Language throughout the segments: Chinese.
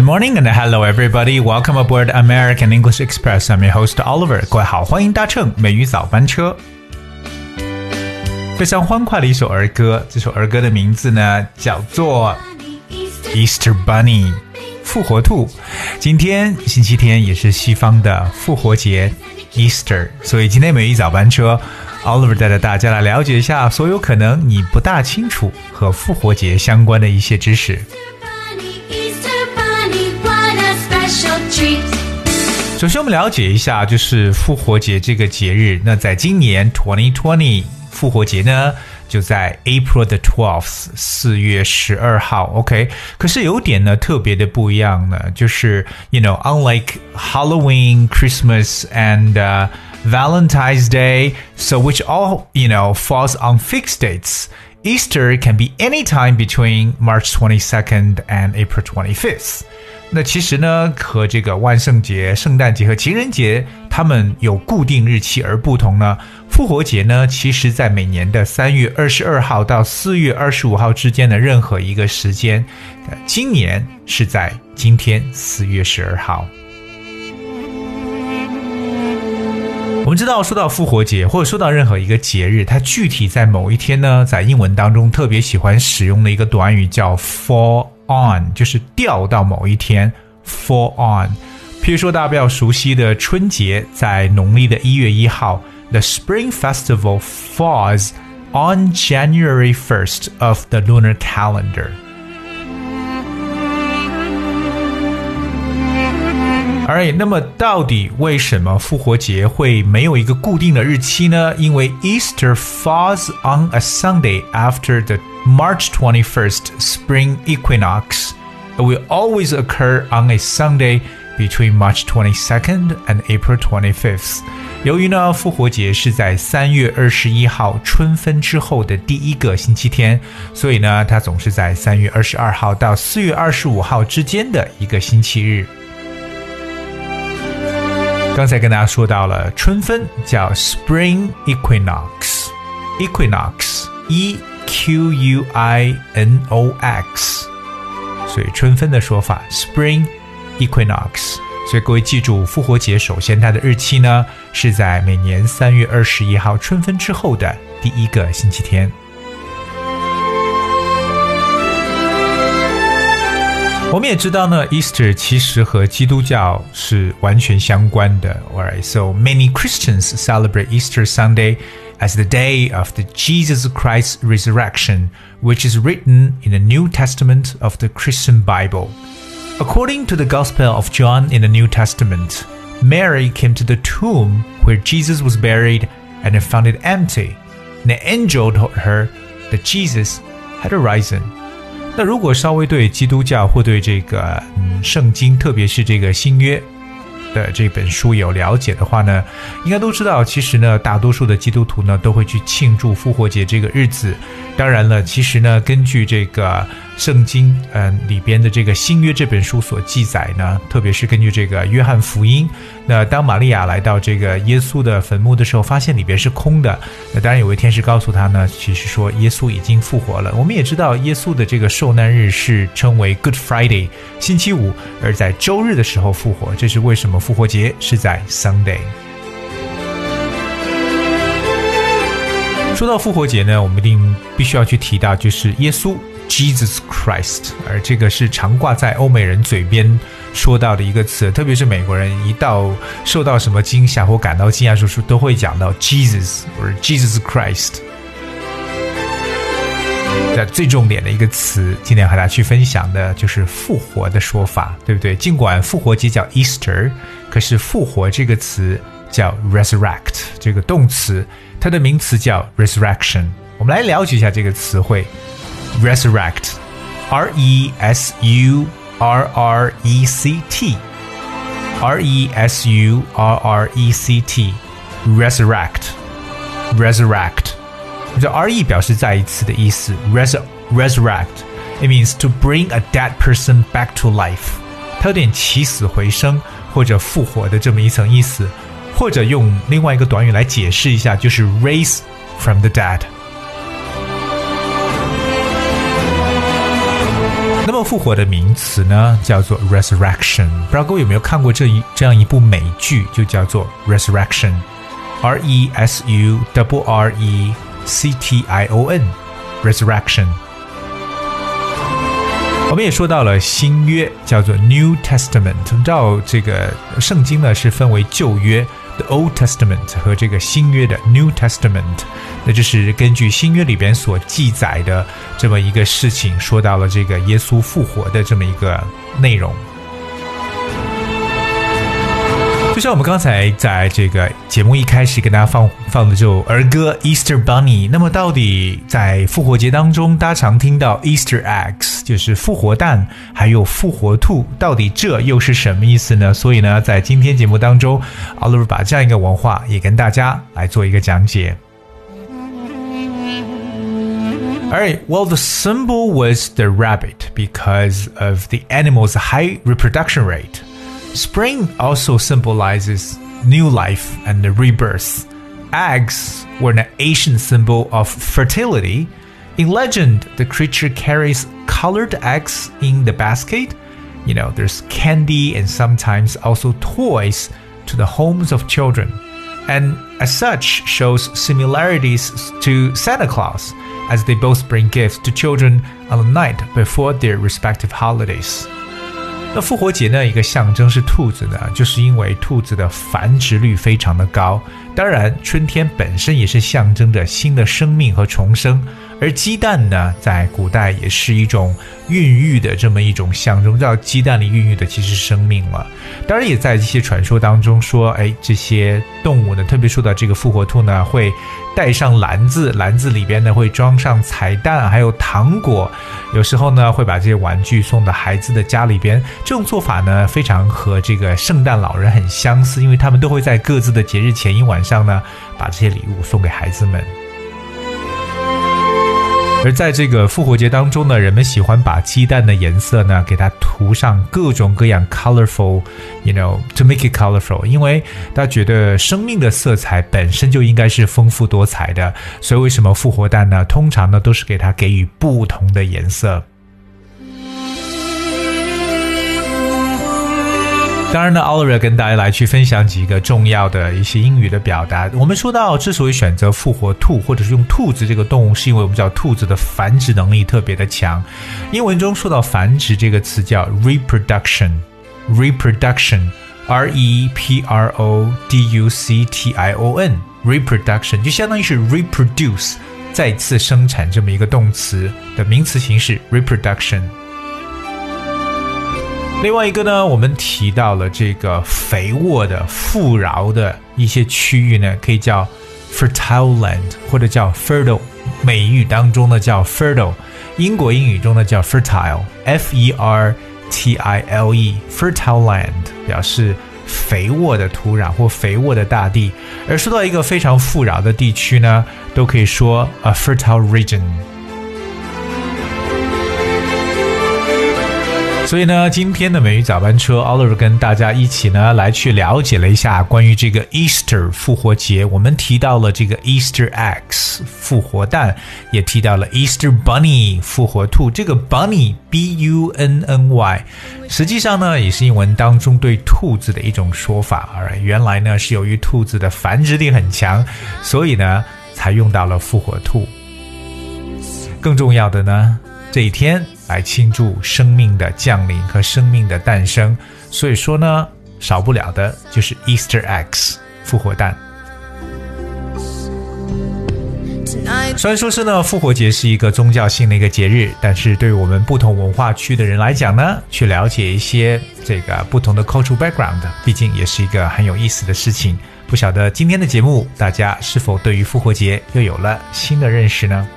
morning and hello everybody. Welcome aboard American English Express. I'm your host Oliver. 各位好，欢迎搭乘美语早班车。非常欢快的一首儿歌，这首儿歌的名字呢叫做 Easter Bunny 复活兔。今天星期天也是西方的复活节 Easter， 所以今天美语早班车Oliver 带着大家来了解一下所有可能你不大清楚和复活节相关的一些知识。首先我们了解一下就是复活节这个节日，那在今年2020复活节呢就在 April the 12th 4月12号 OK， 可是有点呢特别的不一样呢，就是 unlike Halloween, Christmas and Valentine's Day, so which all, falls on fixed dates. Easter can be any time between March 22nd and April 25th. 那其实呢，和这个万圣节、圣诞节和情人节，它们有固定日期而不同呢。复活节呢，其实在每年的3月22号到4月25号之间的任何一个时间。今年是在今天4月12号。我们知道说到复活节或者说到任何一个节日，它具体在某一天呢，在英文当中特别喜欢使用的一个短语叫 fall on， 就是掉到某一天 fall on。 譬如说大家比较熟悉的春节，在农历的1月1号 The Spring Festival falls on January 1st of the lunar calendar。Alright， 那么到底为什么复活节会没有一个固定的日期呢？因为 Easter falls on a Sunday after the March 21st spring equinox. It will always occur on a Sunday between March 22nd and April 25th. 由于呢，复活节是在3月21号春分之后的第一个星期天，所以呢，它总是在3月22号到4月25号之间的一个星期日。刚才跟大家说到了春分叫 Spring Equinox， Equinox E-Q-U-I-N-O-X， 所以春分的说法 Spring Equinox。 所以各位记住复活节首先它的日期呢是在每年3月21号春分之后的第一个星期天。我们也知道呢 Easter 其实和基督教是完全相关的。 Alright, so many Christians celebrate Easter Sunday as the day of the Jesus Christ resurrection, which is written in the New Testament of the Christian Bible. According to the Gospel of John in the New Testament, Mary came to the tomb where Jesus was buried and found it empty. And the angel told her that Jesus had arisen.那如果稍微对基督教或对这个圣经，特别是这个新约的这本书有了解的话呢，应该都知道其实呢大多数的基督徒呢都会去庆祝复活节这个日子。当然了，其实呢根据这个圣经里边的这个新约这本书所记载呢，特别是根据这个约翰福音，那当玛利亚来到这个耶稣的坟墓的时候，发现里边是空的，那当然有位天使告诉他呢，其实说耶稣已经复活了。我们也知道耶稣的这个受难日是称为 Good Friday 星期五，而在周日的时候复活，这是为什么复活节是在 Sunday。说到复活节呢，我们一定必须要去提到就是耶稣 Jesus Christ， 而这个是常挂在欧美人嘴边说到的一个词，特别是美国人一到受到什么惊吓或感到惊讶时都会讲到 Jesus 或者 Jesus Christ。 那最重点的一个词今天和大家去分享的就是复活的说法，对不对？尽管复活节叫 Easter， 可是复活这个词叫 resurrect， 这个动词它的名词叫 resurrection。 我们来了解一下这个词汇 resurrect， R-E-S-U-R-R-E-C-T R-E-S-U-R-R-E-C-T resurrect resurrect， 这 R-E 表示再一次的意思， resurrect it means to bring a dead person back to life， 它有点起死回生或者复活的这么一层意思，或者用另外一个短语来解释一下，就是 raise from the dead。 那么复活的名词呢，叫做 resurrection。不知道各位有没有看过这样一部美剧，就叫做 resurrection，resurrection，resurrection。我们也说到了新约，叫做 New Testament。我们知道这个圣经呢是分为旧约The Old Testament 和这个新约的 New Testament， 那就是根据新约里边所记载的这么一个事情，说到了这个耶稣复活的这么一个内容。就像我们刚才在这个节目一开始跟大家放的这首儿歌 Easter Bunny， 那么到底在复活节当中大家常听到 Easter eggs， 就是复活蛋还有复活兔，到底这又是什么意思呢？所以呢，在今天节目当中 Oliver 把这样一个文化也跟大家来做一个讲解。Alright, well, the symbol was the rabbit because of the animal's high reproduction rate.Spring also symbolizes new life and rebirth. Eggs were an ancient symbol of fertility. In legend, the creature carries colored eggs in the basket. You know, there's candy and sometimes also toys to the homes of children. And as such, shows similarities to Santa Claus, as they both bring gifts to children on the night before their respective holidays.那复活节呢，一个象征是兔子呢，就是因为兔子的繁殖率非常的高。当然，春天本身也是象征着新的生命和重生。而鸡蛋呢，在古代也是一种孕育的这么一种象征，到鸡蛋里孕育的其实是生命了。当然，也在一些传说当中说，这些动物呢，特别说到这个复活兔呢，会带上篮子，篮子里边呢会装上彩蛋，还有糖果。有时候呢，会把这些玩具送到孩子的家里边。这种做法呢，非常和这个圣诞老人很相似，因为他们都会在各自的节日前一晚上呢，把这些礼物送给孩子们。而在这个复活节当中呢，人们喜欢把鸡蛋的颜色呢给它涂上各种各样 colorful, to make it colorful， 因为大家觉得生命的色彩本身就应该是丰富多彩的，所以为什么复活蛋呢通常呢都是给它给予不同的颜色。当然呢 Oliver 跟大家来去分享几个重要的一些英语的表达。我们说到之所以选择复活兔或者是用兔子这个动物，是因为我们知道兔子的繁殖能力特别的强。英文中说到繁殖这个词叫 reproduction R-E-P-R-O-D-U-C-T-I-O-N reproduction 就相当于是 reproduce 再次生产这么一个动词的名词形式 reproduction。另外一个呢，我们提到了这个肥沃的富饶的一些区域呢，可以叫 fertile land 或者叫 fertile， 美语当中呢叫 fertile， 英国英语中呢叫 fertile F-E-R-T-I-L-E fertile land 表示肥沃的土壤或肥沃的大地。而说到一个非常富饶的地区呢，都可以说 a fertile region。所以呢，今天的美语早班车 Oliver 跟大家一起呢来去了解了一下关于这个 Easter 复活节。我们提到了这个 Easter eggs 复活蛋，也提到了 Easter bunny 复活兔。这个 bunny B-U-N-N-Y 实际上呢也是英文当中对兔子的一种说法。原来呢是由于兔子的繁殖力很强，所以呢才用到了复活兔。更重要的呢，这一天来庆祝生命的降临和生命的诞生，所以说呢，少不了的就是 Easter eggs 复活蛋。虽然说是呢，复活节是一个宗教性的一个节日，但是对于我们不同文化区的人来讲呢，去了解一些这个不同的 cultural background， 毕竟也是一个很有意思的事情。不晓得今天的节目，大家是否对于复活节又有了新的认识呢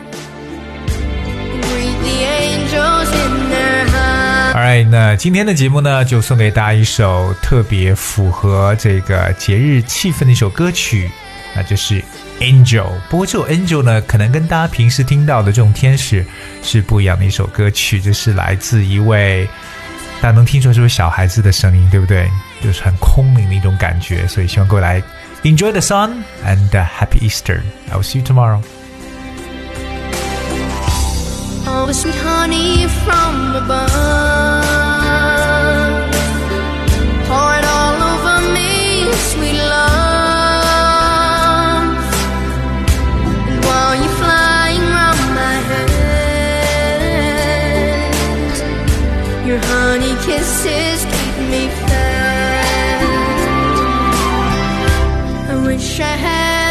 ？Alright， 那今天的节目呢，就送给大家一首特别符合这个节日气氛的一首歌曲，那就是 Angel。不过这首 Angel 呢，可能跟大家平时听到的这种天使是不一样的一首歌曲，这是来自一位大家能听出是不是小孩子的声音，对不对？就是很空灵的一种感觉，所以希望各位来 Enjoy the sun and Happy Easter. I will see you tomorrow. honey from above, poured all over me, sweet love. And while you're flying round my head, your honey kisses keep me fed. I wish I had